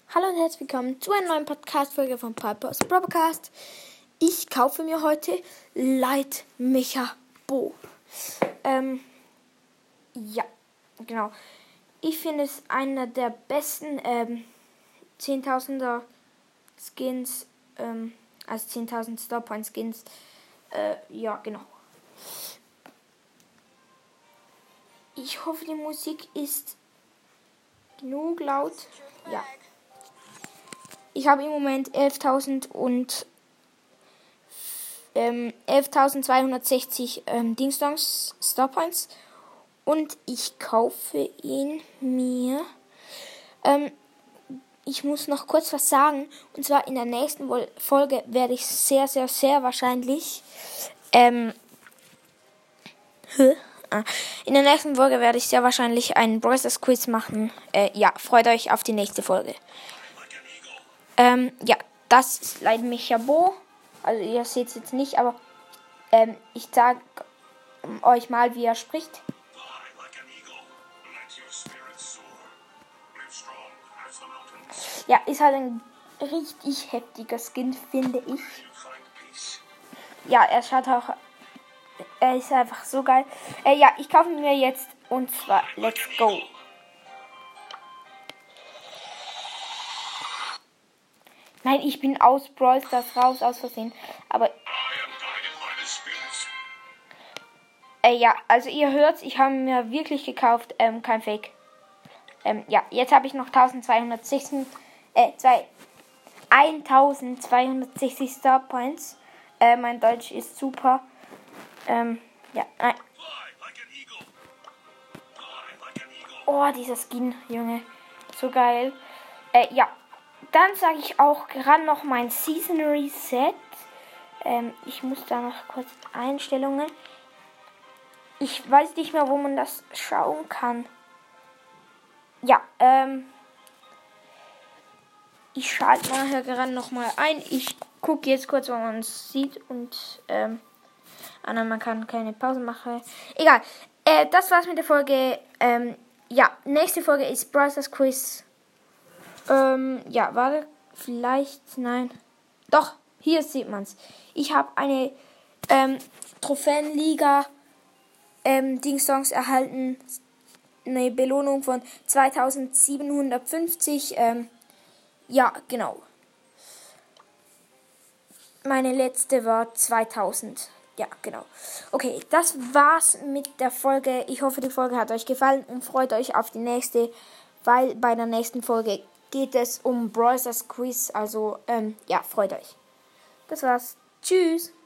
Hallo und herzlich willkommen zu einer neuen Podcast-Folge von Piper's Podcast. Ich kaufe mir heute Light Mecha Bo. Ja, genau. Ich finde es einer der besten 10.000er Skins, also 10.000 Starpoint Skins. Ja, genau. Ich hoffe, die Musik ist genug laut. Ja. Ich habe im Moment 11.260 Dingsdongs Starpoints und ich kaufe ihn mir. Ich muss noch kurz was sagen, und zwar in der nächsten Folge werde ich sehr wahrscheinlich in der nächsten Folge werde ich sehr wahrscheinlich einen Brawl Stars Quiz machen. Ja, freut euch auf die nächste Folge. Ja, das ist Light Mecha Bo. Also ihr seht es jetzt nicht, aber ich sage euch mal, wie er spricht. Ja, ist halt ein richtig heftiger Skin, finde ich. Ja, er ist einfach so geil. Ja, ich kaufe ihn mir jetzt und zwar let's go. Nein, ich bin aus Brawl Stars raus, aus Versehen. Aber ja, also ihr hört's, ich habe mir wirklich gekauft, kein Fake. Ja, jetzt habe ich noch 1260 Starpoints. Mein Deutsch ist super. Ja, nein. Oh, dieser Skin, Junge. So geil. Ja. Dann sage ich auch gerade noch mein Season Reset. Ich muss da noch kurz Einstellungen. Ich weiß nicht mehr, wo man das schauen kann. Ja, ich schalte nachher gerade nochmal ein. Ich gucke jetzt kurz, wo man es sieht. Und, man kann keine Pause machen. Egal. Das war's mit der Folge. Ja, nächste Folge ist Brawl Stars Quiz. Ja, warte, vielleicht, nein. Doch, hier sieht man's. Ich habe eine Trophäenliga Dingsongs erhalten. Eine Belohnung von 2750. Ja, genau. Meine letzte war 2000. Ja, genau. Okay, das war's mit der Folge. Ich hoffe, die Folge hat euch gefallen und freut euch auf die nächste, weil bei der nächsten Folge geht es um Brawl Stars Quiz. Also, ja, freut euch. Das war's. Tschüss.